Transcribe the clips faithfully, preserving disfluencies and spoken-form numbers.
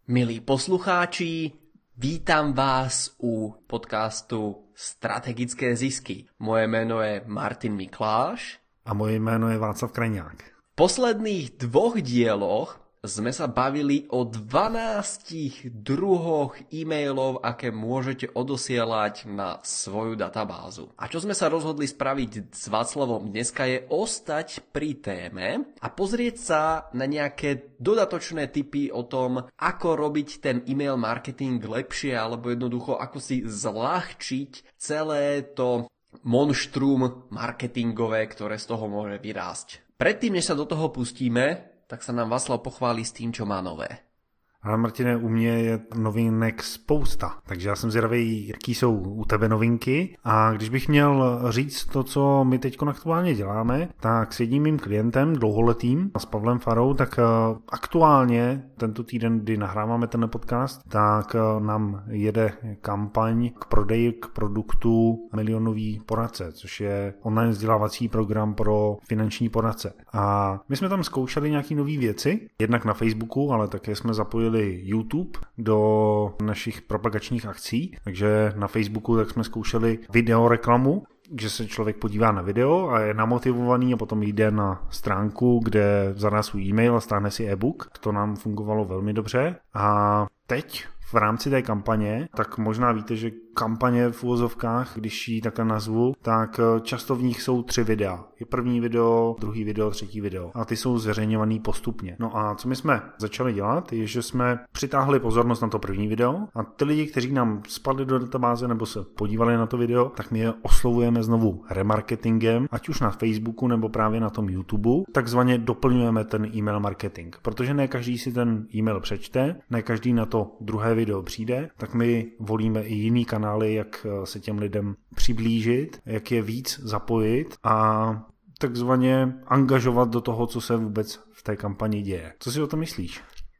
Milí poslucháči, vítam vás u podcastu Strategické zisky. Moje jméno je Martin Mikláš. A moje jméno je Václav Krajňák. V posledných dvoch dieloch sme sa bavili o dvanástich druhoch e-mailov, aké môžete odosielať na svoju databázu. A čo sme sa rozhodli spraviť s Václavom dneska je ostať pri téme a pozrieť sa na nejaké dodatočné tipy o tom, ako robiť ten e-mail marketing lepšie, alebo jednoducho ako si zľahčiť celé to monštrum marketingové, ktoré z toho môže vyrásť. Predtým, než sa do toho pustíme, tak sa nám Václav pochválí s tím, čo má nové. Ale Martine, u mě je novinek spousta, takže já jsem zvědavý, jaký jsou u tebe novinky. A když bych měl říct to, co my teď aktuálně děláme, tak s jedním mým klientem, dlouholetým, s Pavlem Farou, tak aktuálně tento týden, kdy nahráváme ten podcast, tak nám jede kampaň k prodeji k produktu Milionový poradce, což je online vzdělávací program pro finanční poradce. A my jsme tam zkoušeli nějaký nové věci, jednak na Facebooku, ale také jsme zapojili YouTube do našich propagačních akcí, takže na Facebooku tak jsme zkoušeli videoreklamu, že se člověk podívá na video a je namotivovaný a potom jde na stránku, kde zadá svůj e-mail a stáhne si e-book. To nám fungovalo velmi dobře a teď v rámci té kampaně, tak možná víte, že kampaně v uvozovkách, když ji takhle nazvu, tak často v nich jsou tři videa. Je první video, druhý video, třetí video. A ty jsou zveřejňovaný postupně. No a co my jsme začali dělat, je, že jsme přitáhli pozornost na to první video a ty lidi, kteří nám spadli do databáze nebo se podívali na to video, tak my je oslovujeme znovu remarketingem, ať už na Facebooku nebo právě na tom YouTube. Takzvaně doplňujeme ten e-mail marketing, protože ne každý si ten e-mail přečte, ne každý na to druhé video přijde, tak my volíme i jiný kanály, jak se těm lidem přiblížit, jak je víc zapojit a takzvaně angažovat do toho, co se vůbec v té kampani děje. Co si o tom myslíš?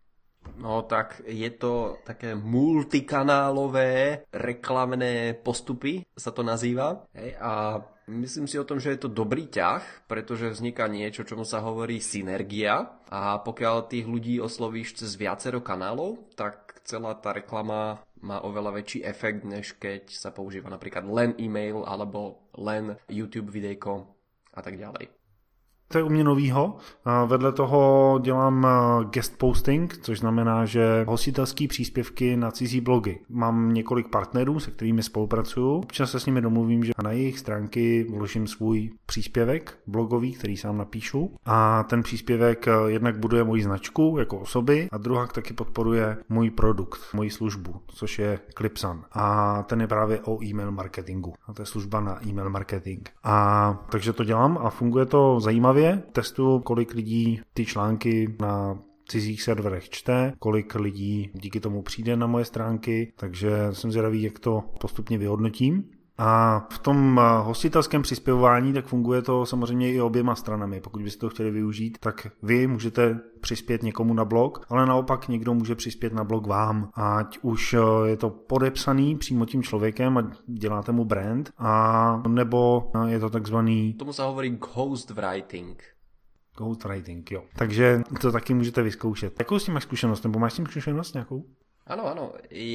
No tak je to také multikanálové reklamné postupy, sa to nazýva. Hej, a myslím si o tom, že je to dobrý ťah, pretože vzniká niečo, čomu sa hovorí synergia. A pokiaľ tých ľudí oslovíš cez viacero kanálov, tak celá tá reklama má oveľa väčší efekt, než keď sa používa napríklad len e-mail alebo len YouTube videjko a tak ďalej. To je u mě novýho. Vedle toho dělám guest posting, což znamená, že hostitelský příspěvky na cizí blogy. Mám několik partnerů, se kterými spolupracuju. Občas se s nimi domluvím, že na jejich stránky vložím svůj příspěvek blogový, který sám napíšu. A ten příspěvek jednak buduje moji značku jako osoby a druhá taky podporuje můj produkt, moji službu, což je Clipsan. A ten je právě o e-mail marketingu. A to je služba na e-mail marketing. A takže to dělám a funguje to zajímavě. Testuju, kolik lidí ty články na cizích serverech čte, kolik lidí díky tomu přijde na moje stránky, takže jsem zvědavý, jak to postupně vyhodnotím. A v tom hostitelském přispěvování tak funguje to samozřejmě i oběma stranami. Pokud byste to chtěli využít, tak vy můžete přispět někomu na blog, ale naopak někdo může přispět na blog vám. Ať už je to podepsaný přímo tím člověkem a děláte mu brand, a nebo je to takzvaný... Tomu se hovorí ghostwriting. Ghostwriting, jo. Takže to taky můžete vyzkoušet. Jakou s tím máš zkušenost? Nebo máš s tím zkušenost nějakou? Áno, áno.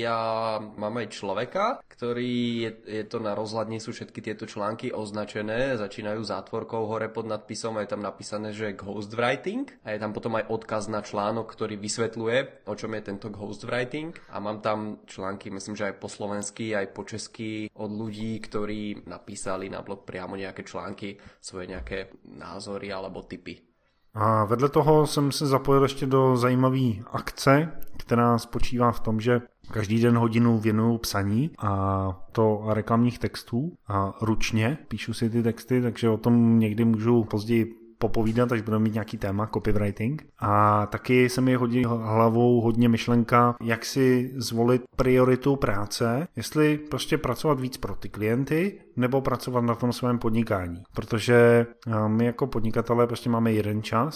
Ja mám aj človeka, ktorý, je, je to na rozhľadni, sú všetky tieto články označené, začínajú zátvorkou hore pod nadpisom a je tam napísané, že ghostwriting a je tam potom aj odkaz na článok, ktorý vysvetľuje, o čom je tento ghostwriting a mám tam články, myslím, že aj po slovensky, aj po česky od ľudí, ktorí napísali na blog priamo nejaké články, svoje nejaké názory alebo tipy. A vedle toho jsem se zapojil ještě do zajímavé akce, která spočívá v tom, že každý den hodinu věnuju psaní a to reklamních textů a ručně píšu si ty texty, takže o tom někdy můžu později popovídat, až budeme mít nějaký téma, copywriting. A taky se mi hodí hlavou hodně myšlenka, jak si zvolit prioritu práce, jestli prostě pracovat víc pro ty klienty, nebo pracovat na tom svém podnikání. Protože my jako podnikatelé prostě máme jeden čas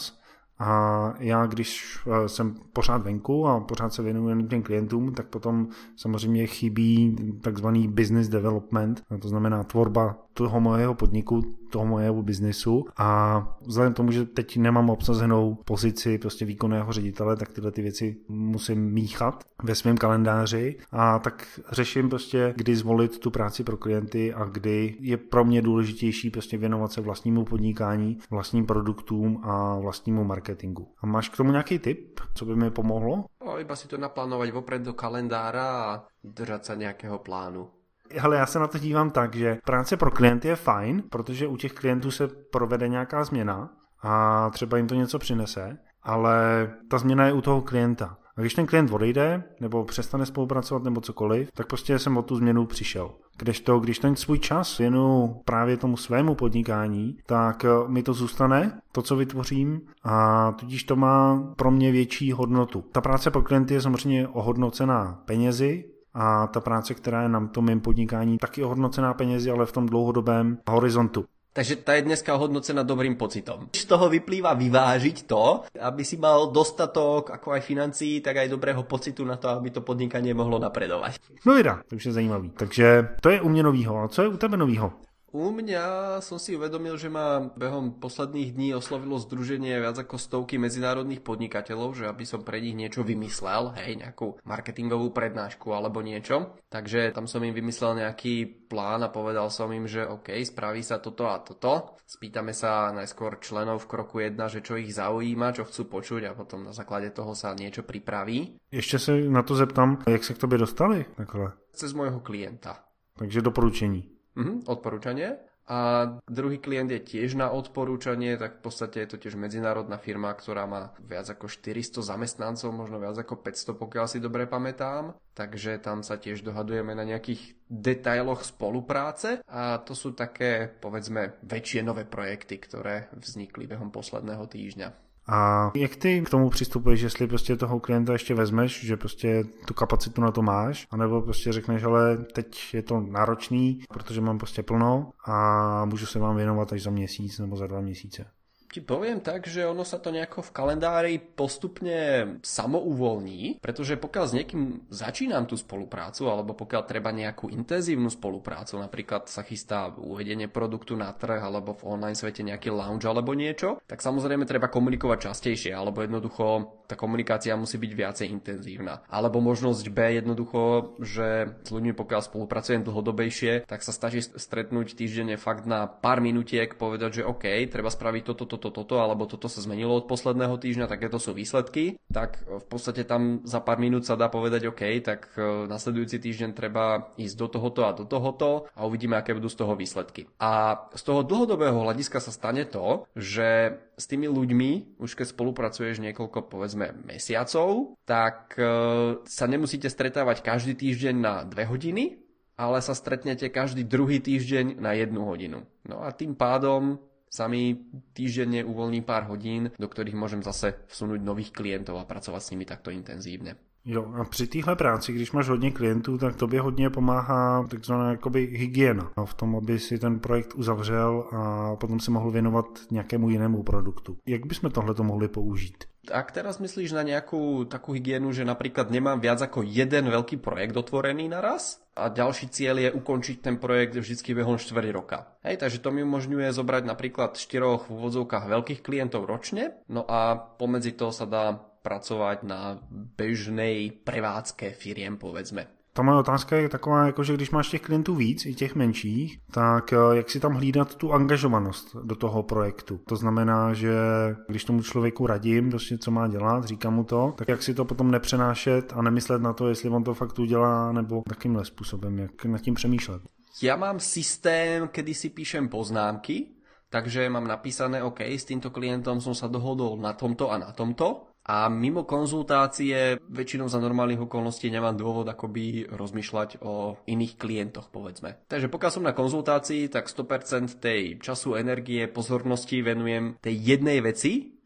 A já, když jsem pořád venku a pořád se věnuju těm klientům, tak potom samozřejmě chybí takzvaný business development, to znamená tvorba toho mojeho podniku, toho mojeho biznesu a vzhledem k tomu, že teď nemám obsazenou pozici prostě výkonného ředitele, tak tyhle ty věci musím míchat ve svém kalendáři a tak řeším prostě, kdy zvolit tu práci pro klienty a kdy je pro mě důležitější prostě věnovat se vlastnímu podnikání, vlastním produktům a vlastnímu marketingu. A máš k tomu nějaký tip, co by mi pomohlo? No, iba si to naplánovať vopred do kalendára a držať sa nejakého plánu. Hele, já se na to dívám tak, že práce pro klienty je fajn, protože u těch klientů se provede nějaká změna a třeba jim to něco přinese, ale ta změna je u toho klienta. A když ten klient odejde, nebo přestane spolupracovat, nebo cokoliv, tak prostě jsem o tu změnu přišel. Kdežto, když ten svůj čas věnu právě tomu svému podnikání, tak mi to zůstane, to, co vytvořím, a tudíž to má pro mě větší hodnotu. Ta práce pro klienty je samozřejmě ohodnocená penězi, a ta práce, která je na tom mém podnikání, taky ohodnocená penězi, ale v tom dlouhodobém horizontu. Takže tá je dneska ohodnocená dobrým pocitom. Z toho vyplýva vyvážiť to, aby si mal dostatok ako aj financií, tak aj dobrého pocitu na to, aby to podnikanie mohlo napredovať. No vida, to už je zajímavý. Takže to je u mě novýho. A co je u tebe novýho? U mňa som si uvedomil, že ma behom posledných dní oslovilo združenie viac ako stovky medzinárodných podnikateľov, že aby som pre nich niečo vymyslel, hej, nejakú marketingovú prednášku alebo niečo. Takže tam som im vymyslel nejaký plán a povedal som im, že OK, spraví sa toto a toto. Spýtame sa najskôr členov v kroku jedna, že čo ich zaujíma, čo chcú počuť a potom na základe toho sa niečo pripraví. Ještě se na to zeptám, jak se k tobě dostali takhle? Cez môjho klienta. Takže doporučení. Mhm, odporúčanie. A druhý klient je tiež na odporúčanie, tak v podstate je to tiež medzinárodná firma, ktorá má viac ako štyristo zamestnancov, možno viac ako päťsto, pokiaľ si dobre pamätám. Takže tam sa tiež dohadujeme na nejakých detailoch spolupráce a to sú také, povedzme, väčšie nové projekty, ktoré vznikli behom posledného týždňa. A jak ty k tomu přistupuješ, jestli prostě toho klienta ještě vezmeš, že prostě tu kapacitu na to máš, anebo prostě řekneš, ale teď je to náročný, protože mám prostě plno a můžu se vám věnovat až za měsíc nebo za dva měsíce. Ti poviem tak, že ono sa to nejako v kalendári postupne samouvoľní, pretože pokiaľ s niekým začínam tú spoluprácu, alebo pokiaľ treba nejakú intenzívnu spoluprácu, napríklad sa chystá uvedenie produktu na trh, alebo v online svete nejaký launch alebo niečo, tak samozrejme treba komunikovať častejšie, alebo jednoducho tá komunikácia musí byť viacej intenzívna. Alebo možnosť B jednoducho, že s ľuďmi pokiaľ spolupracujem dlhodobejšie, tak sa stačí stretnúť týždenne fakt na pár minutiek, povedať, že OK, treba spraviť toto, toto, toto, toto, alebo toto sa zmenilo od posledného týždňa, takéto sú výsledky, tak v podstate tam za pár minút sa dá povedať OK, tak nasledujúci týždeň treba ísť do tohoto a do tohoto a uvidíme, aké budú z toho výsledky. A z toho dlhodobého hľadiska sa stane to, že s tými ľuďmi, už keď spolupracuješ niekoľko, povedzme, mesiacov, tak sa nemusíte stretávať každý týždeň na dve hodiny, ale sa stretnete každý druhý týždeň na jednu hodinu. No a tým pádom sa mi týždenne uvoľní pár hodín, do ktorých môžem zase vsunúť nových klientov a pracovať s nimi takto intenzívne. Jo, a při téhle práci, když máš hodně klientů, tak tobě hodně pomáhá takzvaná jakoby hygiena v tom, aby si ten projekt uzavřel a potom si mohl věnovat nějakému jinému produktu. Jak bychom tohleto mohli použít? Ak teraz myslíš na nejakú takú hygienu, že napríklad nemám viac ako jeden veľký projekt otvorený naraz a ďalší cieľ je ukončiť ten projekt vždycky behom štvrť roka. Hej, takže to mi umožňuje zobrať napríklad štyroch v úvodzovkách veľkých klientov ročne, no a pomedzi to sa dá pracovať na bežnej prevádzke firiem, povedzme. Ta moje otázka je taková, jako že když máš těch klientů víc, i těch menších, tak jak si tam hlídat tu angažovanost do toho projektu. To znamená, že když tomu člověku radím, prostě co má dělat, říkám mu to, tak jak si to potom nepřenášet a nemyslet na to, jestli on to fakt udělá, nebo takýmhle způsobem, jak nad tím přemýšlet. Ja mám systém, kedy si píšem poznámky, takže mám napísané, OK, s týmto klientom som sa dohodol na tomto a na tomto. A mimo konzultácie väčšinou za normálnych okolností nemám dôvod akoby rozmýšľať o iných klientoch, povedzme. Takže pokiaľ som na konzultácii, tak sto percent tej času, energie, pozornosti venujem tej jednej veci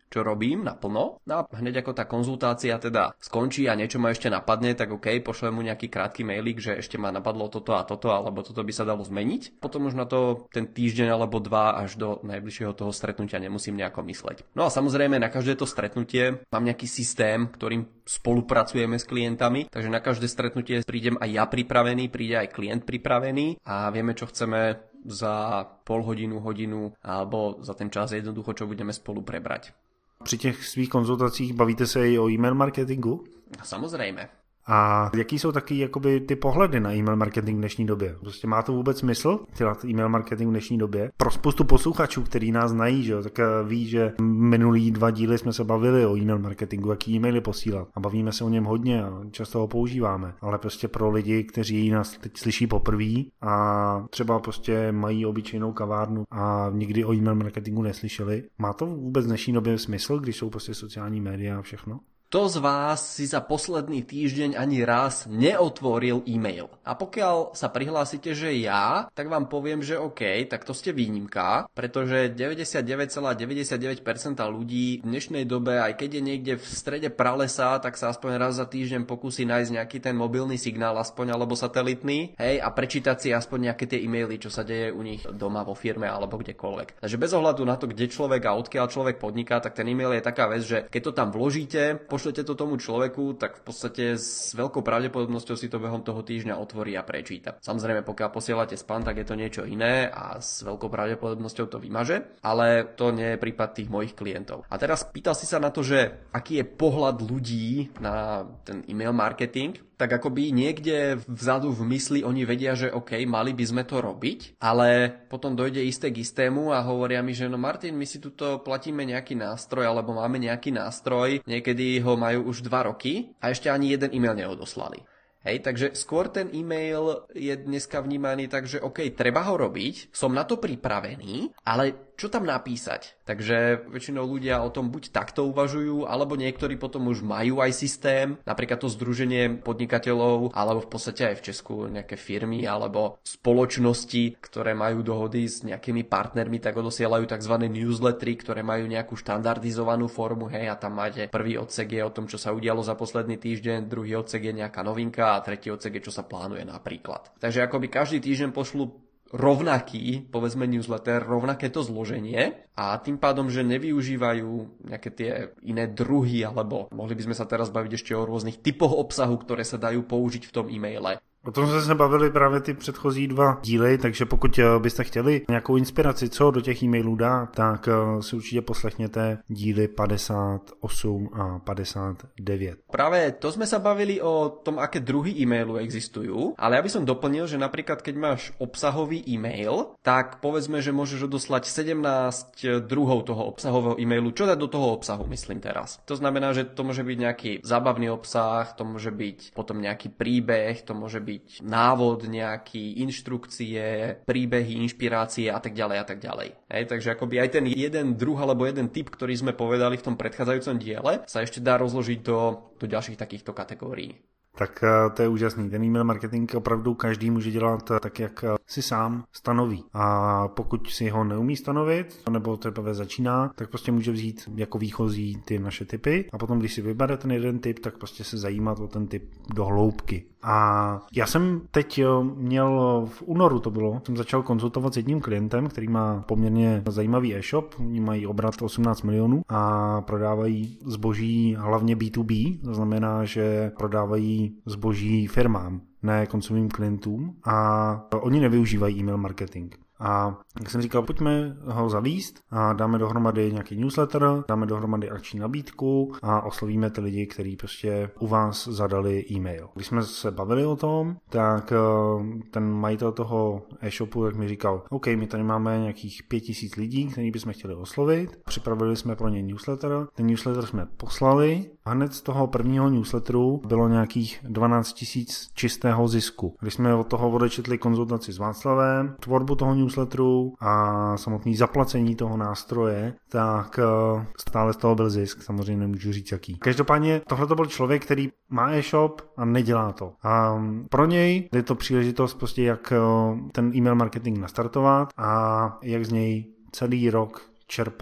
čo robím naplno. No a hneď ako tá konzultácia teda skončí a niečo ma ešte napadne, tak OK, pošlem mu nejaký krátky mailík, že ešte ma napadlo toto a toto, alebo toto by sa dalo zmeniť. Potom už na to ten týždeň alebo dva až do najbližšieho toho stretnutia nemusím nejako mysleť. No a samozrejme na každé to stretnutie mám nejaký systém, ktorým spolupracujeme s klientami, takže na každé stretnutie prídem aj ja pripravený, príde aj klient pripravený a vieme, čo chceme za pol hodinu, hodinu alebo za ten čas jednoducho, čo budeme spolu prebrať. Při těch svých konzultacích bavíte se i o e-mail marketingu? Samozřejmě. A jaký jsou taky jakoby ty pohledy na e-mail marketing v dnešní době? Prostě má to vůbec smysl dělat e-mail marketing v dnešní době? Pro spoustu posluchačů, kteří nás znají, že jo, tak ví, že minulý dva díly jsme se bavili o e-mail marketingu, jaký e-maily posílat. A bavíme se o něm hodně a často ho používáme. Ale prostě pro lidi, kteří nás teď slyší poprvé a třeba prostě mají obyčejnou kavárnu a nikdy o e-mail marketingu neslyšeli, má to vůbec v dnešní době smysl, když jsou prostě sociální média a všechno? Kto z vás si za posledný týždeň ani raz neotvoril e-mail? A pokiaľ sa prihlásite, že ja, tak vám poviem, že OK, tak to ste výnimka, pretože deväťdesiatdeväť celá deväťdesiatdeväť percent ľudí v dnešnej dobe, aj keď je niekde v strede pralesa, tak sa aspoň raz za týždeň pokusí nájsť nejaký ten mobilný signál aspoň, alebo satelitný, hej, a prečítať si aspoň nejaké tie e-maily, čo sa deje u nich doma vo firme alebo kdekoľvek. Takže bez ohľadu na to, kde človek a odkiaľ človek podniká, tak ten e-mail je taká vec, že keď to tam vložíte, pošlete to tomu človeku, tak v podstate s veľkou pravdepodobnosťou si to behom toho týždňa otvorí a prečíta. Samozrejme, pokiaľ posielate spam, tak je to niečo iné a s veľkou pravdepodobnosťou to vymaže, ale to nie je prípad tých mojich klientov. A teraz pýtal si sa na to, že aký je pohľad ľudí na ten e-mail marketing, tak akoby niekde vzadu v mysli oni vedia, že OK, mali by sme to robiť, ale potom dojde isté k istému a hovoria mi, že no Martin, my si tuto platíme nejaký nástroj alebo máme nejaký nástroj, niekedy ho majú už dva roky a ešte ani jeden e-mail neodoslali. Hej, takže skôr ten e-mail je dneska vnímaný tak, že OK, treba ho robiť, som na to pripravený, ale čo tam napísať? Takže väčšinou ľudia o tom buď takto uvažujú, alebo niektorí potom už majú aj systém, napríklad to združenie podnikateľov, alebo v podstate aj v Česku nejaké firmy alebo spoločnosti, ktoré majú dohody s nejakými partnermi, tak odosielajú tzv. Newslettery, ktoré majú nejakú štandardizovanú formu, hej, a tam máte prvý odsek je o tom, čo sa udialo za posledný týždeň, druhý odsek je nejaká novinka a tretí odsek je, čo sa plánuje napríklad. Takže akoby každý týždeň pošlu rovnaký, povedzme newsletter, rovnaké to zloženie a tým pádom, že nevyužívajú nejaké tie iné druhy, alebo mohli by sme sa teraz baviť ešte o rôznych typoch obsahu, ktoré sa dajú použiť v tom e-maile. O tom jsme se bavili právě ty předchozí dva díly, takže pokud byste chtěli nějakou inspiraci, co do těch e-mailů dát, tak si určitě poslechněte díly padesát osm a padesát devět. Práve to sme sa bavili o tom, aké druhy e-mailu existujú, ale ja by som doplnil, že napríklad keď máš obsahový e-mail, tak povedzme, že môžeš odoslať sedemnásť druhov toho obsahového e-mailu. Čo dať do toho obsahu, myslím teraz? To znamená, že to môže byť nejaký zábavný obsah, to môže byť potom nejaký príbeh, to môže byť návod, nejaký inštrukcie, príbehy, inšpirácie a tak ďalej a tak ďalej. Hej, takže akoby aj ten jeden druh alebo jeden typ, ktorý sme povedali v tom predchádzajúcom diele, sa ešte dá rozložiť do, do ďalších takýchto kategórií. Tak to je úžasný. Ten e-mail marketing opravdu každý může dělat tak, jak si sám stanoví. A pokud si ho neumí stanovit, nebo teprve začíná, tak prostě může vzít jako výchozí ty naše typy a potom, když si vybere ten jeden typ, tak prostě se zajímat o ten typ do hloubky. A já jsem teď měl v únoru to bylo, jsem začal konzultovat s jedním klientem, který má poměrně zajímavý e-shop, oni mají obrat osmnáct milionů a prodávají zboží hlavně bé dvě bé, to znamená, že prodávají zboží firmám, ne koncovým klientům a oni nevyužívají e-mail marketing. A jak jsem říkal, pojďme ho zavíst a dáme dohromady nějaký newsletter, dáme dohromady akční nabídku a oslovíme ty lidi, kteří prostě u vás zadali e-mail. Když jsme se bavili o tom, tak ten majitel toho e-shopu tak mi říkal, OK, my tady máme nějakých pět tisíc lidí, který bychom chtěli oslovit, připravili jsme pro ně newsletter, ten newsletter jsme poslali a hned z toho prvního newsletteru bylo nějakých dvanáct tisíc čistého zisku. Když jsme od toho odečetli konzultaci s Václavem, tvorbu toho newsletteru a samotné zaplacení toho nástroje, tak stále z toho byl zisk, samozřejmě nemůžu říct jaký. Každopádně tohle to byl člověk, který má e-shop a nedělá to. A pro něj je to příležitost prostě, jak ten e-mail marketing nastartovat a jak z něj celý rok čerpat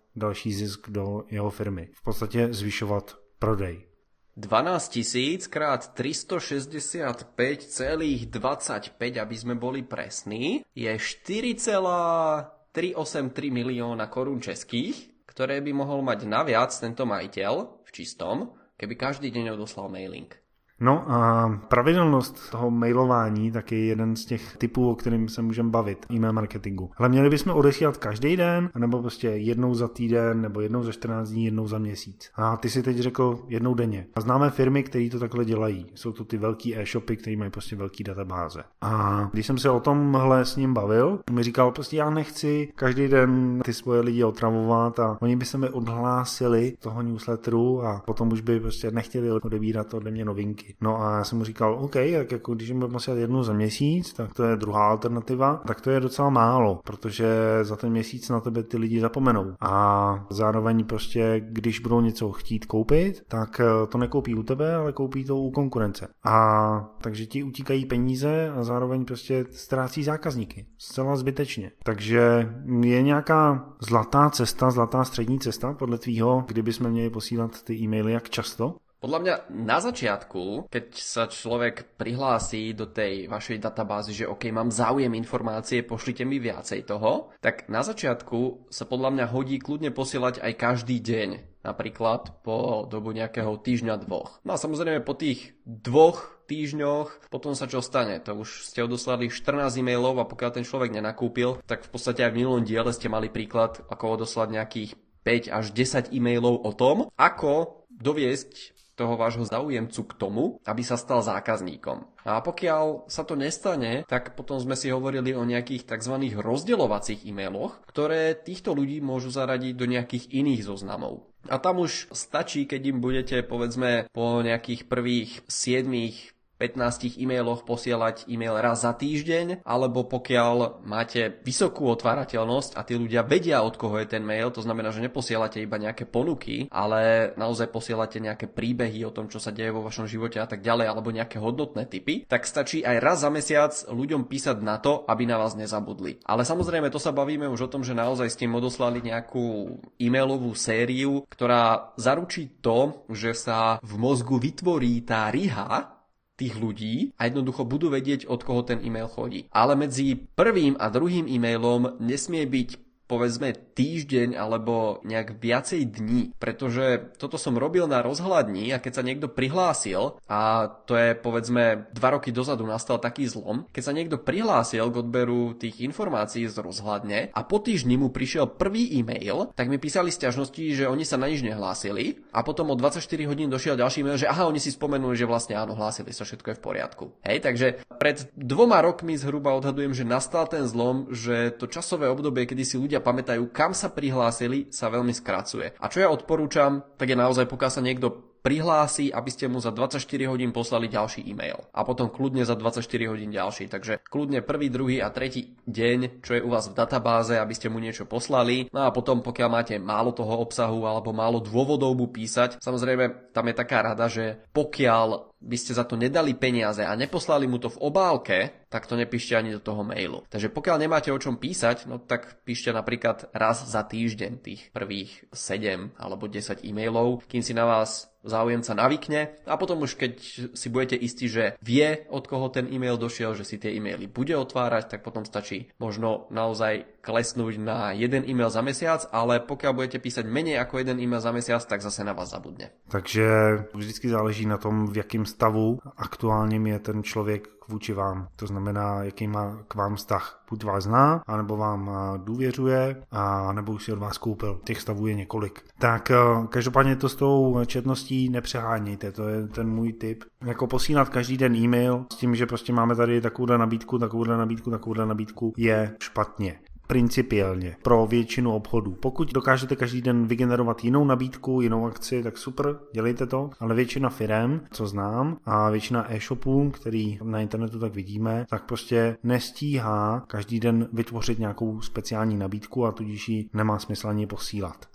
další zisk do jeho firmy. V podstatě zvyšovat prodej. dvanásť tisíc krát tristošesťdesiatpäť celá dvadsaťpäť, aby sme boli presní, je štyri celé tristoosemdesiattri milióna korún českých, ktoré by mohol mať naviac tento majiteľ v čistom, keby každý deň odoslal mailing. No a pravidelnost toho mailování tak je jeden z těch typů, o kterým se můžeme bavit, e-mail marketingu. Ale měli bychom odesílat každý den, nebo prostě jednou za týden, nebo jednou za čtrnáct dní, jednou za měsíc. A ty si teď řekl jednou denně. A známe firmy, které to takhle dělají. Jsou to ty velký e-shopy, které mají prostě velký databáze. A když jsem se o tomhle s ním bavil, mi říkal prostě já nechci každý den ty svoje lidi otravovat a oni by se mi odhlásili toho newsletteru a potom už by prostě nechtěli odebírat ode mě novinky. No a já jsem mu říkal, OK, tak jako když jim budeme posílat jednu za měsíc, tak to je druhá alternativa, tak to je docela málo, protože za ten měsíc na tebe ty lidi zapomenou. A zároveň prostě, když budou něco chtít koupit, tak to nekoupí u tebe, ale koupí to u konkurence. A takže ti utíkají peníze a zároveň prostě ztrácí zákazníky. Zcela zbytečně. Takže je nějaká zlatá cesta, zlatá střední cesta podle tvýho, kdyby jsme měli posílat ty e-maily, jak často? Podľa mňa na začiatku, keď sa človek prihlási do tej vašej databázy, že OK, mám záujem informácie, pošlite mi viacej toho, tak na začiatku sa podľa mňa hodí kľudne posielať aj každý deň. Napríklad po dobu nejakého týždňa, dvoch. No a samozrejme po tých dvoch týždňoch potom sa čo stane? To už ste odoslali štrnásť e-mailov a pokiaľ ten človek nenakúpil, tak v podstate aj v minulom diele ste mali príklad, ako odoslať nejakých päť až desať e-mailov o tom, ako doviesť toho vášho záujemcu k tomu, aby sa stal zákazníkom. A pokiaľ sa to nestane, tak potom sme si hovorili o nejakých tzv. Rozdeľovacích e-mailoch, ktoré týchto ľudí môžu zaradiť do nejakých iných zoznamov. A tam už stačí, keď im budete, povedzme, po nejakých prvých siedmich pätnástich e-mailoch posielať e-mail raz za týždeň, alebo pokiaľ máte vysokú otvárateľnosť a tí ľudia vedia, od koho je ten mail, to znamená, že neposielate iba nejaké ponuky, ale naozaj posielate nejaké príbehy o tom, čo sa deje vo vašom živote a tak ďalej, alebo nejaké hodnotné tipy, tak stačí aj raz za mesiac ľuďom písať na to, aby na vás nezabudli. Ale samozrejme, to sa bavíme už o tom, že naozaj ste im odoslali nejakú e-mailovú sériu, ktorá zaručí to, že sa v mozgu vytvorí tá riha tých ľudí a jednoducho budú vedieť, od koho ten e-mail chodí. Ale medzi prvým a druhým e-mailom nesmie byť povedzme týždeň alebo nejak viacej dní, pretože toto som robil na rozhľadni a keď sa niekto prihlásil, a to je povedzme dva roky dozadu nastal taký zlom, keď sa niekto prihlásil k odberu tých informácií z rozhľadne a po týždni mu prišiel prvý e-mail, tak mi písali sťažnosti, že oni sa na nič nehlásili a potom o dvadsaťštyri hodín došiel ďalší e-mail, že aha, oni si spomenuli, že vlastne áno, hlásili sa, všetko je v poriadku. Hej, takže pred dvoma rokmi zhruba odhadujem, že nastal ten zlom, že to časové obdobie, kedy si ľudia pamätajú, kam sa prihlásili, sa veľmi skracuje. A čo ja odporúčam, tak je naozaj, pokiaľ sa niekto prihlási, aby ste mu za dvadsaťštyri hodín poslali ďalší e-mail. A potom kľudne za dvadsaťštyri hodín ďalší. Takže kľudne prvý, druhý a tretí deň, čo je u vás v databáze, aby ste mu niečo poslali. No a potom, pokiaľ máte málo toho obsahu alebo málo dôvodov mu písať, samozrejme, tam je taká rada, že pokiaľ by ste za to nedali peniaze a neposlali mu to v obálke, tak to nepíšte ani do toho mailu. Takže pokiaľ nemáte o čom písať, no tak píšte napríklad raz za týždeň tých prvých sedem alebo desať e-mailov, kým si na vás záujemca navykne a potom už keď si budete istí, že vie, od koho ten e-mail došiel, že si tie e-maily bude otvárať, tak potom stačí možno naozaj klesnúť na jeden e-mail za mesiac, ale pokiaľ budete písať menej ako jeden e-mail za mesiac, tak zase na vás zabudne. Takže vždycky záleží na tom, v jakém stavu aktuálním je ten člověk vůči vám. To znamená, jaký má k vám vztah. Buď vás zná, anebo vám důvěřuje, a nebo už si od vás koupil. Těch stavů je několik. Tak každopádně to s tou četností nepřehánějte, to je ten můj tip. Jako posílat každý den e-mail s tím, že prostě máme tady takovouhle nabídku, takovouhle nabídku, takovouhle nabídku, je špatně. Principiálně pro většinu obchodů. Pokud dokážete každý den vygenerovat jinou nabídku, jinou akci, tak super, dělejte to, ale většina firem, co znám, a většina e-shopů, který na internetu tak vidíme, tak prostě nestíhá každý den vytvořit nějakou speciální nabídku a tudíž ji nemá smysl ani posílat.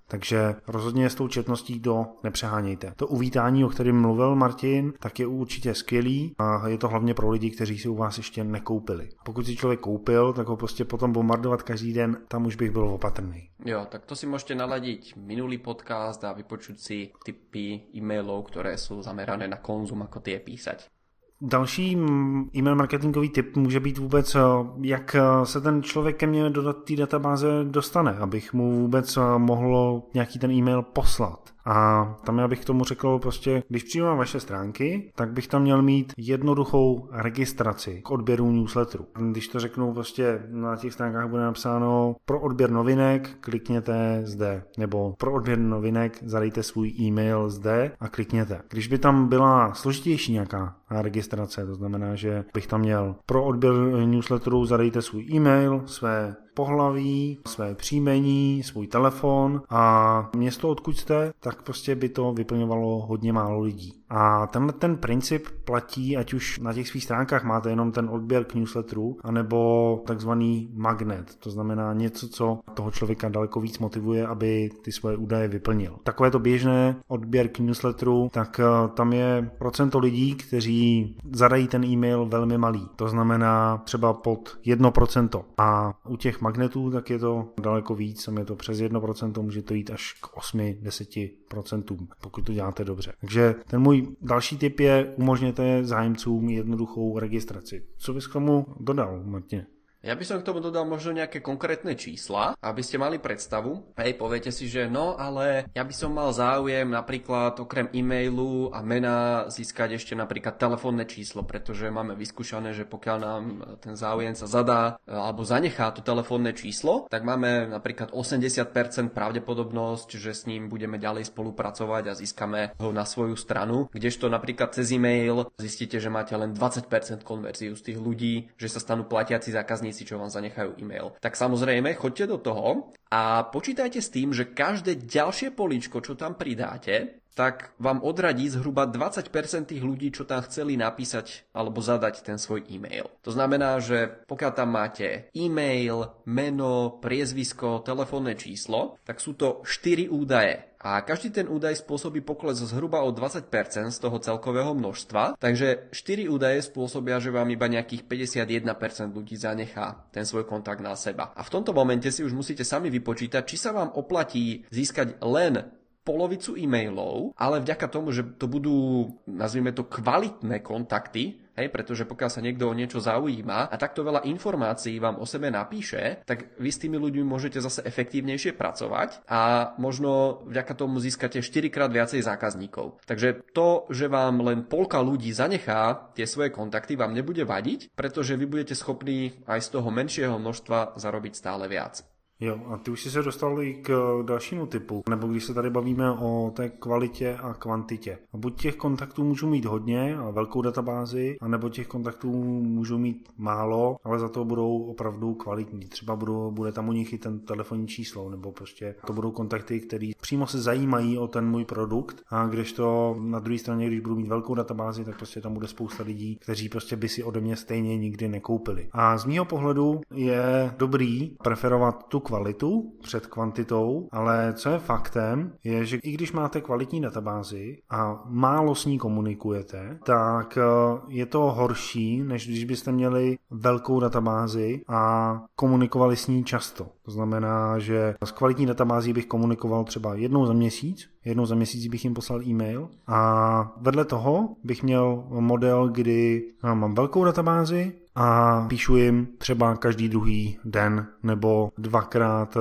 Takže rozhodně s tou četností do nepřehánějte. To uvítání, o kterém mluvil Martin, tak je určitě skvělý a je to hlavně pro lidi, kteří si u vás ještě nekoupili. Pokud si člověk koupil, tak ho prostě potom bombardovat každý den, tam už bych byl opatrný. Jo, tak to si môžete naladiť minulý podcast a vypočuť si typy e-mailov, ktoré sú zamerané na konzum, ako tie písať. Další e-mail marketingový tip může být vůbec, jak se ten člověk ke mně do té databáze dostane, abych mu vůbec mohl nějaký ten e-mail poslat. A tam já bych k tomu řekl prostě, když přijdu na vaše stránky, tak bych tam měl mít jednoduchou registraci k odběru newsletteru. Když to řeknu prostě na těch stránkách bude napsáno pro odběr novinek, klikněte zde, nebo pro odběr novinek zadejte svůj e-mail zde a klikněte. Když by tam byla složitější nějaká registrace, to znamená, že bych tam měl pro odběr newsletteru zadejte svůj e-mail, své pohlaví, své příjmení, svůj telefon a město, odkud jste, tak prostě by to vyplňovalo hodně málo lidí. A tenhle ten princip platí, ať už na těch svých stránkách máte jenom ten odběr k newsletteru, anebo takzvaný magnet, to znamená něco, co toho člověka daleko víc motivuje, aby ty svoje údaje vyplnil. Takové to běžné odběr k newsletteru, tak tam je procento lidí, kteří zadají ten e-mail velmi malý, to znamená třeba pod jedno procento. A u těch magnetů, tak je to daleko víc, tam je to přes jedno procento, může to jít až k osm až deset procent, pokud to děláte dobře. Takže ten můj další tip je, umožněte zájemcům jednoduchou registraci. Co bys k tomu dodal, Martine? Ja by som k tomu dodal možno nejaké konkrétne čísla, aby ste mali predstavu. Hej, poviete si, že no, ale ja by som mal záujem napríklad okrem e-mailu a mena získať ešte napríklad telefónne číslo, pretože máme vyskúšané, že pokiaľ nám ten záujem sa zadá alebo zanechá to telefónne číslo, tak máme napríklad osemdesiat percent pravdepodobnosť, že s ním budeme ďalej spolupracovať a získame ho na svoju stranu, kdežto napríklad cez e-mail zistíte, že máte len dvadsať percent konverziu z tých ľudí, že sa stanú platiaci zákazníci, čo vám zanechajú e-mail. Tak samozrejme, choďte do toho a počítajte s tým, že každé ďalšie políčko, čo tam pridáte, tak vám odradí zhruba dvadsať percent tých ľudí, čo tam chceli napísať alebo zadať ten svoj e-mail. To znamená, že pokiaľ tam máte e-mail, meno, priezvisko, telefónne číslo, tak sú to štyri údaje. A každý ten údaj spôsobí pokles zhruba o dvadsať percent z toho celkového množstva, takže štyri údaje spôsobia, že vám iba nejakých päťdesiatjeden percent ľudí zanechá ten svoj kontakt na seba. A v tomto momente si už musíte sami vypočítať, či sa vám oplatí získať len polovicu e-mailov, ale vďaka tomu, že to budú, nazvime to, kvalitné kontakty, hej, pretože pokiaľ sa niekto o niečo zaujíma a takto veľa informácií vám o sebe napíše, tak vy s tými ľuďmi môžete zase efektívnejšie pracovať a možno vďaka tomu získate štyrikrát viacej zákazníkov. Takže to, že vám len polka ľudí zanechá tie svoje kontakty, vám nebude vadiť, pretože vy budete schopní aj z toho menšieho množstva zarobiť stále viac. Jo, a ty už jsi se dostal i k dalšímu typu, nebo když se tady bavíme o té kvalitě a kvantitě. A buď těch kontaktů můžu mít hodně a velkou databázi, anebo těch kontaktů můžu mít málo, ale za to budou opravdu kvalitní. Třeba budou, bude tam u nich i ten telefonní číslo, nebo prostě to budou kontakty, který přímo se zajímají o ten můj produkt, a kdežto na druhé straně, když budu mít velkou databázi, tak prostě tam bude spousta lidí, kteří prostě by si ode mě stejně nikdy nekoupili. A z mýho pohledu je dobrý preferovat tu kvalitu před kvantitou, ale co je faktem, je, že i když máte kvalitní databázi a málo s ní komunikujete, tak je to horší, než když byste měli velkou databázi a komunikovali s ní často. To znamená, že s kvalitní databází bych komunikoval třeba jednou za měsíc, jednou za měsíc bych jim poslal e-mail a vedle toho bych měl model, kdy mám velkou databázi a píšu jim třeba každý druhý den nebo dvakrát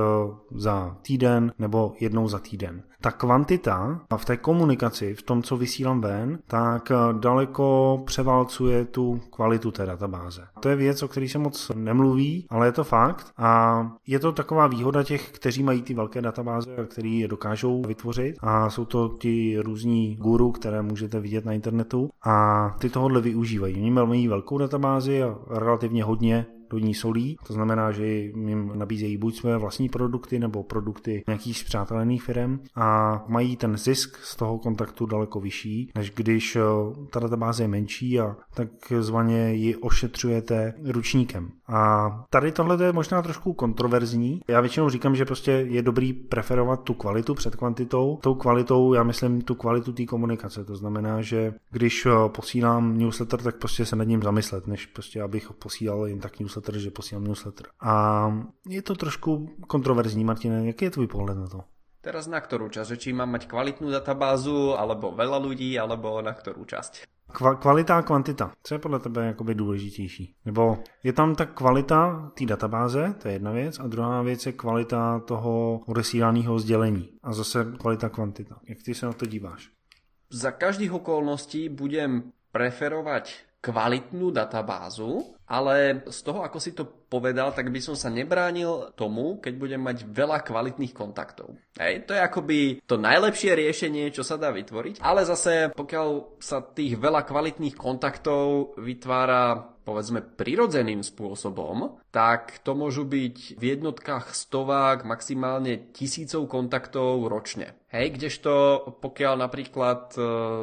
za týden nebo jednou za týden. Ta kvantita v té komunikaci, v tom, co vysílám ven, tak daleko převálcuje tu kvalitu té databáze. To je věc, o které se moc nemluví, ale je to fakt a je to taková výhoda těch, kteří mají ty velké databáze a kteří je dokážou vytvořit a jsou to ti různí guru, které můžete vidět na internetu a ty tohohle využívají. Oni mají velkou databázi a relativně hodně do ní solí, to znamená, že jim nabízejí buď své vlastní produkty nebo produkty nějakých spřátelených firm a mají ten zisk z toho kontaktu daleko vyšší, než když ta databáze je menší a takzvaně ji ošetřujete ručníkem. A tady tohle je možná trošku kontroverzní. Já většinou říkám, že prostě je dobrý preferovat tu kvalitu před kvantitou. Tou kvalitou já myslím tu kvalitu té komunikace. To znamená, že když posílám newsletter, tak prostě se nad ním zamyslet, než prostě abych posílal jen tak newsletter, že posílám newsletter. A je to trošku kontroverzní, Martine, jaký je tvůj pohled na to? Teraz na ktorú časť? Že či mám mať kvalitnú databázu, alebo veľa ľudí, alebo na ktorú časť? Kva- kvalita a kvantita. Co je podle tebe jakoby důležitější? Nebo je tam ta kvalita té databáze, to je jedna věc, a druhá věc je kvalita toho odesílaného sdělení. A zase kvalita kvantita. Jak ty se na to díváš? Za každých okolností budem preferovať kvalitnú databázu, ale z toho, ako si to povedal, tak by som sa nebránil tomu, keď budem mať veľa kvalitných kontaktov. Hej, to je akoby to najlepšie riešenie, čo sa dá vytvoriť, ale zase pokiaľ sa tých veľa kvalitných kontaktov vytvára povedzme prirodzeným spôsobom, tak to môžu byť v jednotkách stovák, maximálne tisícov kontaktov ročne. Hej, kdežto pokiaľ napríklad e,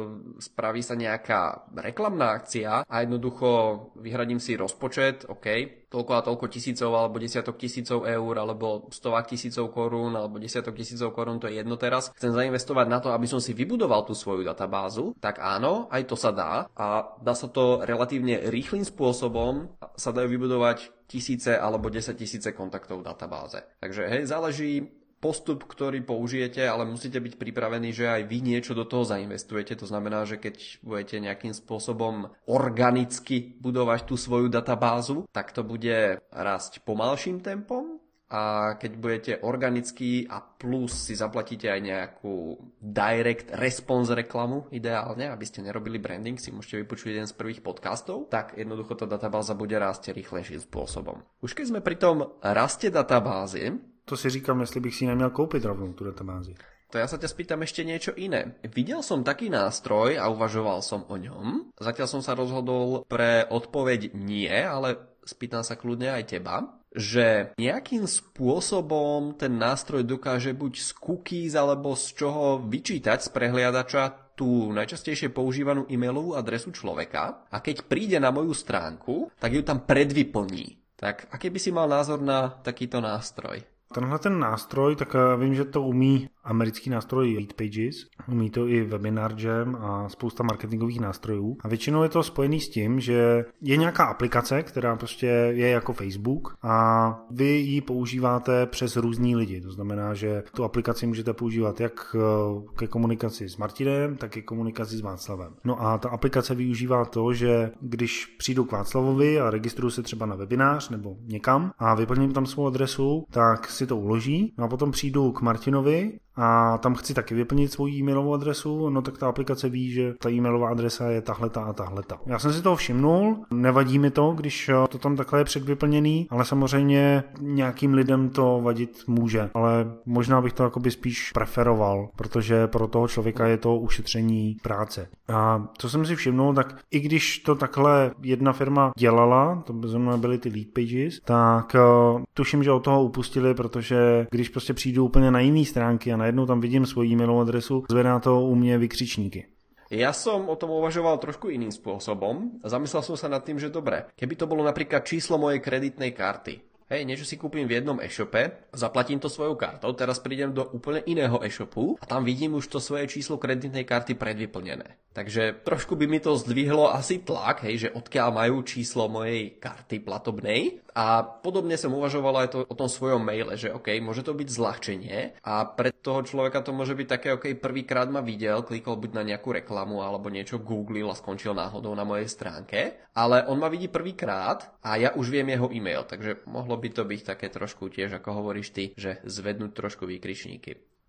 spraví sa nejaká reklamná akcia a jednoducho vyhradím si rozpočet, OK, toľko a toľko tisícov alebo desiatok tisícov eur alebo stovák tisícov korún alebo desiatok tisícov korún, to je jedno teraz. Chcem zainvestovať na to, aby som si vybudoval tú svoju databázu, tak áno, aj to sa dá a dá sa to relatívne rýchlým spôsobom, sa dajú vybudovať tisíce alebo desaťtisíce kontaktov v databáze. Takže hej, záleží postup, ktorý použijete, ale musíte byť pripravení, že aj vy niečo do toho zainvestujete. To znamená, že keď budete nejakým spôsobom organicky budovať tú svoju databázu, tak to bude rásť pomalším tempom. A keď budete organický a plus si zaplatíte aj nejakú direct response reklamu, ideálne, aby ste nerobili branding, si môžete vypočuť jeden z prvých podcastov, tak jednoducho tá databáza bude rásť rýchlejším spôsobom. Už keď sme pri tom raste databázy, to si říkám, jestli bych si neměl koupit rovnou tu databázi. To ja sa ťa spýtam ešte niečo iné. Videl som taký nástroj a uvažoval som o ňom. Zatiaľ som sa rozhodol pre odpoveď nie, ale spýtam sa kľudne aj teba, že nejakým spôsobom ten nástroj dokáže buď z cookies alebo z čoho vyčítať z prehliadača tú najčastejšie používanú e-mailovú adresu človeka a keď príde na moju stránku, tak ju tam predvyplní. Tak aký by si mal názor na takýto nástroj? Tenhle ten nástroj, tak vím, že to umí americký nástroj Leadpages, umí to i Webinar Jam a spousta marketingových nástrojů. A většinou je to spojený s tím, že je nějaká aplikace, která prostě je jako Facebook a vy ji používáte přes různý lidi. To znamená, že tu aplikaci můžete používat jak ke komunikaci s Martinem, tak i komunikaci s Václavem. No a ta aplikace využívá to, že když přijdu k Václavovi a registruju se třeba na webinář nebo někam a vyplním tam svou adresu, tak si to uloží. No a potom přijdu k Martinovi a tam chci taky vyplnit svou e-mailovou adresu, no tak ta aplikace ví, že ta e-mailová adresa je tahleta a tahleta. Já jsem si toho všimnul, nevadí mi to, když to tam takhle je předvyplněný, ale samozřejmě nějakým lidem to vadit může, ale možná bych to jakoby spíš preferoval, protože pro toho člověka je to ušetření práce. A co jsem si všimnul, tak i když to takhle jedna firma dělala, to zrovna byly ty Leadpages, tak uh, tuším, že od toho upustili, protože když prostě přijdu úplně na jiný stránky a najednou tam vidím svoji e-mailovú adresu, zvedá to u mne vykřičníky. Ja som o tom uvažoval trošku iným spôsobom. Zamyslel som sa nad tým, že dobre, keby to bolo napríklad číslo mojej kreditnej karty. Hej, niečo si kúpim v jednom e-shope, zaplatím to svojou kartou, teraz prídem do úplne iného e-shopu a tam vidím už to svoje číslo kreditnej karty predvyplnené. Takže trošku by mi to zdvihlo asi tlak, hej, že odkiaľ majú číslo mojej karty platobnej. A podobne som uvažoval aj to, o tom svojom maile, že OK, môže to byť zľahčenie a pre toho človeka to môže byť také, OK, prvýkrát ma videl, klikol buď na nejakú reklamu alebo niečo googlil a skončil náhodou na mojej stránke, ale on ma vidí prvýkrát a ja už viem jeho e-mail, takže mohlo by to byť také trošku tiež, ako hovoríš ty, že zvednúť trošku výkričníky.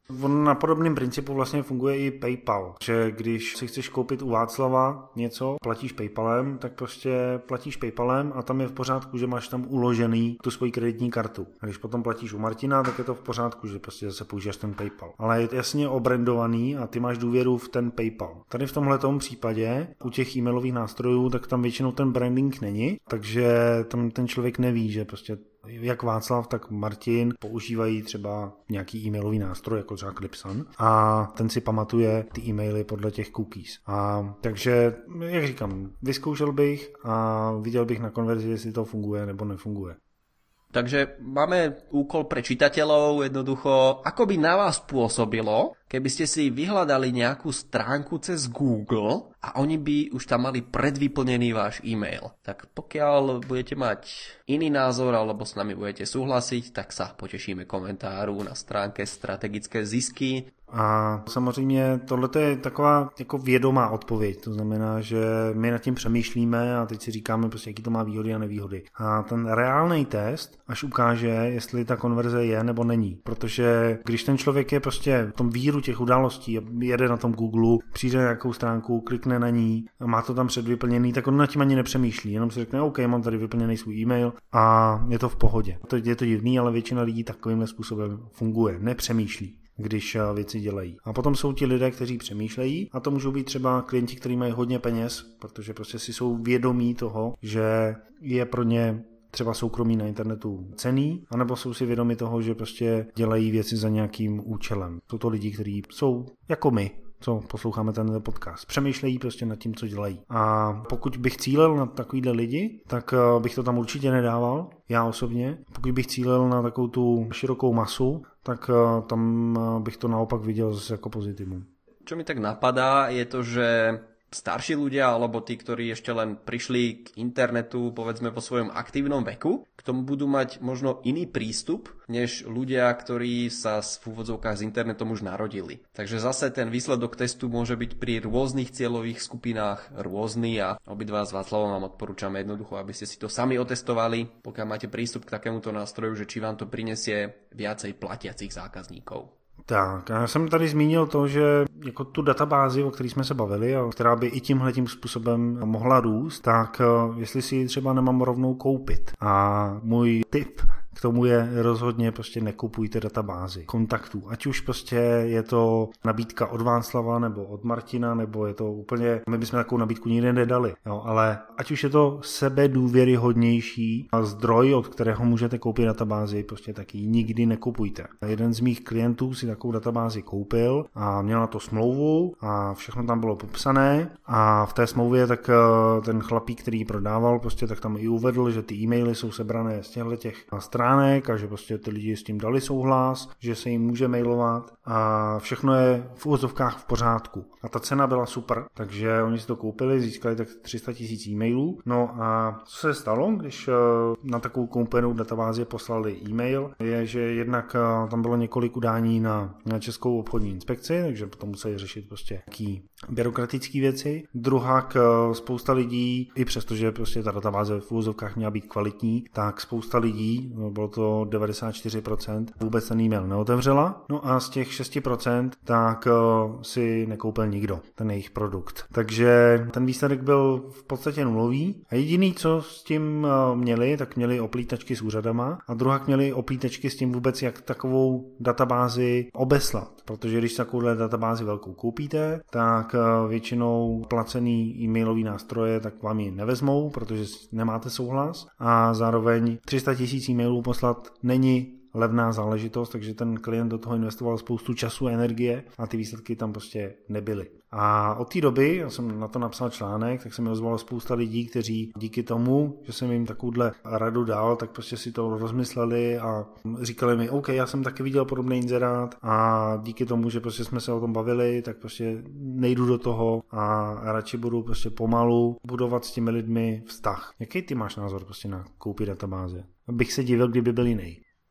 On na podobném principu vlastně funguje i PayPal, že když si chceš koupit u Václava něco, platíš PayPalem, tak prostě platíš PayPalem a tam je v pořádku, že máš tam uložený tu svoji kreditní kartu. A když potom platíš u Martina, tak je to v pořádku, že prostě zase použiješ ten PayPal. Ale je to jasně obrandovaný a ty máš důvěru v ten PayPal. Tady v tomhletom případě u těch e-mailových nástrojů, tak tam většinou ten branding není, takže tam ten člověk neví, že prostě jak Václav, tak Martin používají třeba nějaký e-mailový nástroj, jako třeba Clipsan, a ten si pamatuje ty e-maily podle těch cookies. A takže, jak říkám, vyzkoušel bych a viděl bych na konverzi, jestli to funguje nebo nefunguje. Takže máme úkol pre čitateľov, jednoducho, ako by na vás pôsobilo, keby ste si vyhľadali nejakú stránku cez Google a oni by už tam mali predvyplnený váš e-mail. Tak pokiaľ budete mať iný názor alebo s nami budete súhlasiť, tak sa potešíme komentáru na stránke Strategické zisky. A samozřejmě tohle je taková jako vědomá odpověď, to znamená, že my nad tím přemýšlíme a teď si říkáme prostě, jaký to má výhody a nevýhody. A ten reálný test až ukáže, jestli ta konverze je nebo není, protože když ten člověk je prostě v tom víru těch událostí, jede na tom Google, přijde na nějakou stránku, klikne na ní a má to tam předvyplněný, tak on nad tím ani nepřemýšlí, jenom si řekne, OK, mám tady vyplněný svůj e-mail a je to v pohodě. To je to divný, ale většina lidí takovýmhle způsobem funguje, nepřemýšlí, když věci dělají. A potom jsou ti lidé, kteří přemýšlejí, a to můžou být třeba klienti, kteří mají hodně peněz, protože prostě si jsou vědomí toho, že je pro ně třeba soukromí na internetu cenný, anebo jsou si vědomi toho, že prostě dělají věci za nějakým účelem. Jsou to lidi, kteří jsou jako my, co posloucháme ten podcast. Přemýšlejí prostě nad tím, co dělají. A pokud bych cílil na takovýhle lidi, tak bych to tam určitě nedával, já osobně. Pokud bych cílil na takovou tu širokou masu, tak tam bych to naopak viděl jako pozitivum. Čo mi tak napadá, je to, že starší ľudia, alebo tí, ktorí ešte len prišli k internetu, povedzme vo svojom aktívnom veku, k tomu budú mať možno iný prístup, než ľudia, ktorí sa v úvodzovkách s internetom už narodili. Takže zase ten výsledok testu môže byť pri rôznych cieľových skupinách rôzny a obidva s Václavom vám odporúčame jednoducho, aby ste si to sami otestovali, pokiaľ máte prístup k takémuto nástroju, že či vám to prinesie viacej platiacich zákazníkov. Tak, já jsem tady zmínil to, že jako tu databázi, o které jsme se bavili a která by i tímhletím způsobem mohla růst, tak jestli si ji třeba nemám rovnou koupit. A můj tip k tomu je rozhodně prostě nekupujte databázi kontaktů. Ať už prostě je to nabídka od Václava nebo od Martina, nebo je to úplně, my bychom takovou nabídku nikdy nedali, jo, ale ať už je to sebedůvěryhodnější zdroj, od kterého můžete koupit databázi, prostě taky nikdy nekupujte. Jeden z mých klientů si takovou databázi koupil a měl na to smlouvu a všechno tam bylo popsané a v té smlouvě tak ten chlapík, který ji prodával, prostě tak tam i uvedl, že ty e-maily jsou sebrané z těchto těch stránek a že prostě ty lidi s tím dali souhlas, že se jim může mailovat a všechno je v úvozovkách v pořádku. A ta cena byla super, takže oni si to koupili, získali tak tři sta tisíc e-mailů. No a co se stalo, když na takovou koupenou databázi poslali e-mail, je, že jednak tam bylo několik udání na, na Českou obchodní inspekci, takže potom museli řešit prostě nějaký byrokratické věci. Druhak spousta lidí, i přesto, že prostě ta databáze v úvozovkách měla být kvalitní, tak spousta lidí, bylo to devadesát čtyři procent, vůbec ten e-mail neotevřela. No a z těch šest procent tak si nekoupil nikdo ten jejich produkt. Takže ten výsledek byl v podstatě nulový. A jediný, co s tím měli, tak měli oplítačky s úřadama a druhak měli oplítačky s tím vůbec, jak takovou databázi obeslat. Protože když takovouhle databázi velkou koupíte, tak většinou placený e-mailový nástroje tak vám ji nevezmou, protože nemáte souhlas a zároveň tři sta tisíc e-mailů poslat není levná záležitost, takže ten klient do toho investoval spoustu času a energie a ty výsledky tam prostě nebyly. A od té doby, já jsem na to napsal článek, tak se mi ozvalo spousta lidí, kteří díky tomu, že jsem jim takovouhle radu dal, tak prostě si to rozmysleli a říkali mi, OK, já jsem taky viděl podobný inzerát a díky tomu, že prostě jsme se o tom bavili, tak prostě nejdu do toho a radši budu prostě pomalu budovat s těmi lidmi vztah. Jaký ty máš názor prostě na koupit databáze? Abych se divil, kdyby byl jiný.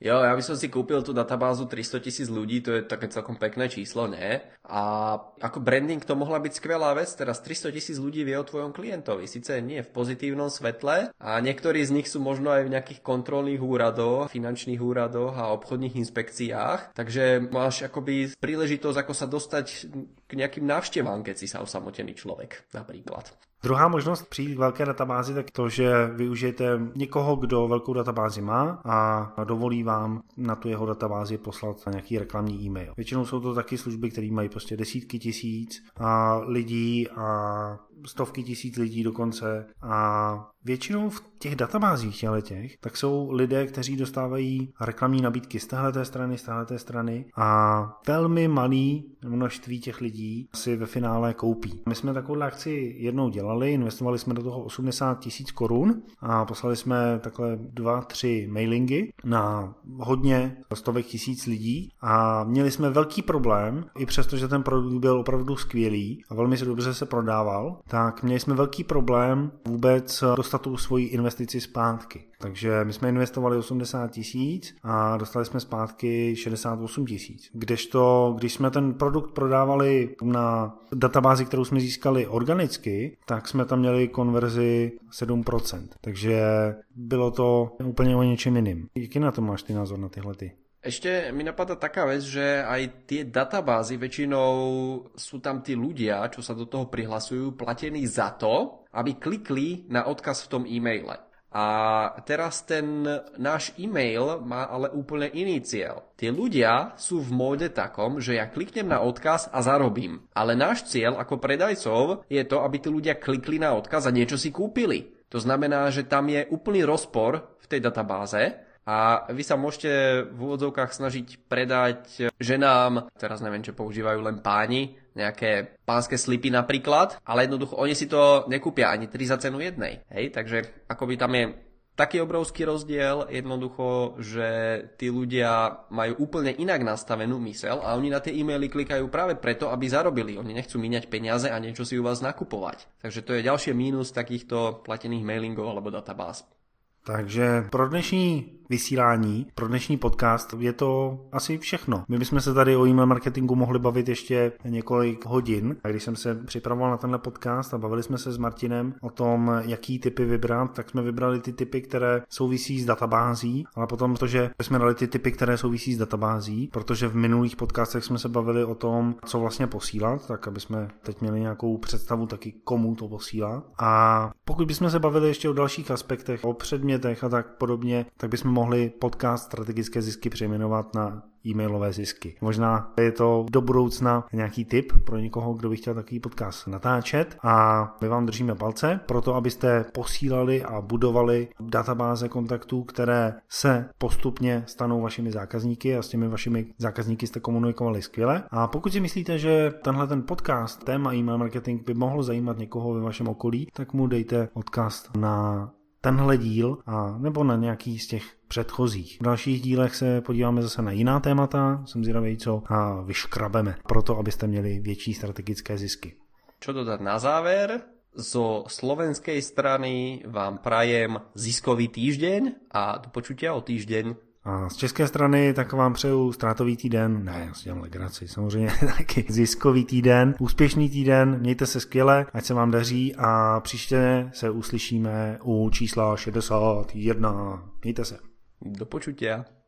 Jo, ja by som si kúpil tú databázu tristotisíc ľudí, to je také celkom pekné číslo, ne? A ako branding to mohla byť skvelá vec, teraz tristotisíc ľudí vie o tvojom klientovi, síce nie v pozitívnom svetle a niektorí z nich sú možno aj v nejakých kontrolných úradoch, finančných úradoch a obchodných inspekciách, takže máš akoby príležitosť ako sa dostať k nejakým návštevám, keď si sa osamotený človek, napríklad. Druhá možnost přijít k velké databázi, tak to, že využijete někoho, kdo velkou databázi má a dovolí vám na tu jeho databázi poslat nějaký reklamní e-mail. Většinou jsou to taky služby, které mají prostě desítky tisíc a lidí a stovky tisíc lidí dokonce a většinou v těch databázích těch, tak jsou lidé, kteří dostávají reklamní nabídky z téhleté strany, z téhleté strany a velmi malý množství těch lidí si ve finále koupí. My jsme takovou akci jednou dělali, investovali jsme do toho osmdesát tisíc korun a poslali jsme takhle dva, tři mailingy na hodně stovek tisíc lidí a měli jsme velký problém, i přesto, že ten produkt byl opravdu skvělý a velmi se dobře se prodával, tak měli jsme velký problém vůbec dostat tu svoji investici zpátky. Takže my jsme investovali osmdesát tisíc a dostali jsme zpátky šedesát osm tisíc. Kdežto, když jsme ten produkt prodávali na databázi, kterou jsme získali organicky, tak jsme tam měli konverzi sedm procent. Takže bylo to úplně o něčem jiným. Jaký na to máš ty názor na tyhle ty? Ešte mi napadá taká vec, že aj tie databázy väčšinou sú tam tí ľudia, čo sa do toho prihlasujú, platení za to, aby klikli na odkaz v tom e-maile. A teraz ten náš e-mail má ale úplne iný cieľ. Tie ľudia sú v móde takom, že ja kliknem na odkaz a zarobím. Ale náš cieľ ako predajcov je to, aby tí ľudia klikli na odkaz a niečo si kúpili. To znamená, že tam je úplný rozpor v tej databáze. A vy sa môžete v úvodzovkách snažiť predať ženám, teraz neviem, čo používajú len páni, nejaké pánske slipy napríklad, ale jednoducho oni si to nekúpia ani tri za cenu jednej. Hej, takže akoby tam je taký obrovský rozdiel, jednoducho, že tí ľudia majú úplne inak nastavenú myseľ a oni na tie e-maily klikajú práve preto, aby zarobili. Oni nechcú míňať peniaze a niečo si u vás nakupovať. Takže to je ďalšie mínus takýchto platených mailingov alebo databáz. Takže pro dnešní vysílání, pro dnešní podcast je to asi všechno. My bychom se tady o e-mail marketingu mohli bavit ještě několik hodin. A když jsem se připravoval na tenhle podcast a bavili jsme se s Martinem o tom, jaký typy vybrat, tak jsme vybrali ty typy, které souvisí s databází, ale potom to, že jsme dali ty typy, které souvisí s databází, protože v minulých podcastech jsme se bavili o tom, co vlastně posílat, tak aby jsme teď měli nějakou představu taky, komu to posílat. A pokud bychom se bavili ještě o dalších aspektech, o předmětech a tak podobně, tak bychom mohli podcast Strategické zisky přejmenovat na e-mailové zisky. Možná je to do budoucna nějaký tip pro někoho, kdo by chtěl takový podcast natáčet a my vám držíme palce pro to, abyste posílali a budovali databáze kontaktů, které se postupně stanou vašimi zákazníky a s těmi vašimi zákazníky jste komunikovali skvěle. A pokud si myslíte, že tenhle ten podcast, téma e-mail marketing by mohl zajímat někoho ve vašem okolí, tak mu dejte odkaz na tenhle díl a nebo na nějaký z těch předchozích. V dalších dílech se podíváme zase na jiná témata, jsem zvědavý, co a vyškrabeme, proto abyste měli větší strategické zisky. Čo dodať na záver? Zo slovenskej strany vám prajem ziskový týždeň a do počutia o týždeň. A z české strany tak vám přeju ztrátový týden, ne, já si dělám legraci, samozřejmě taky ziskový týden, úspěšný týden, mějte se skvěle, ať se vám daří a příště se uslyšíme u čísla šedesát jedna. Mějte se. Do počutia.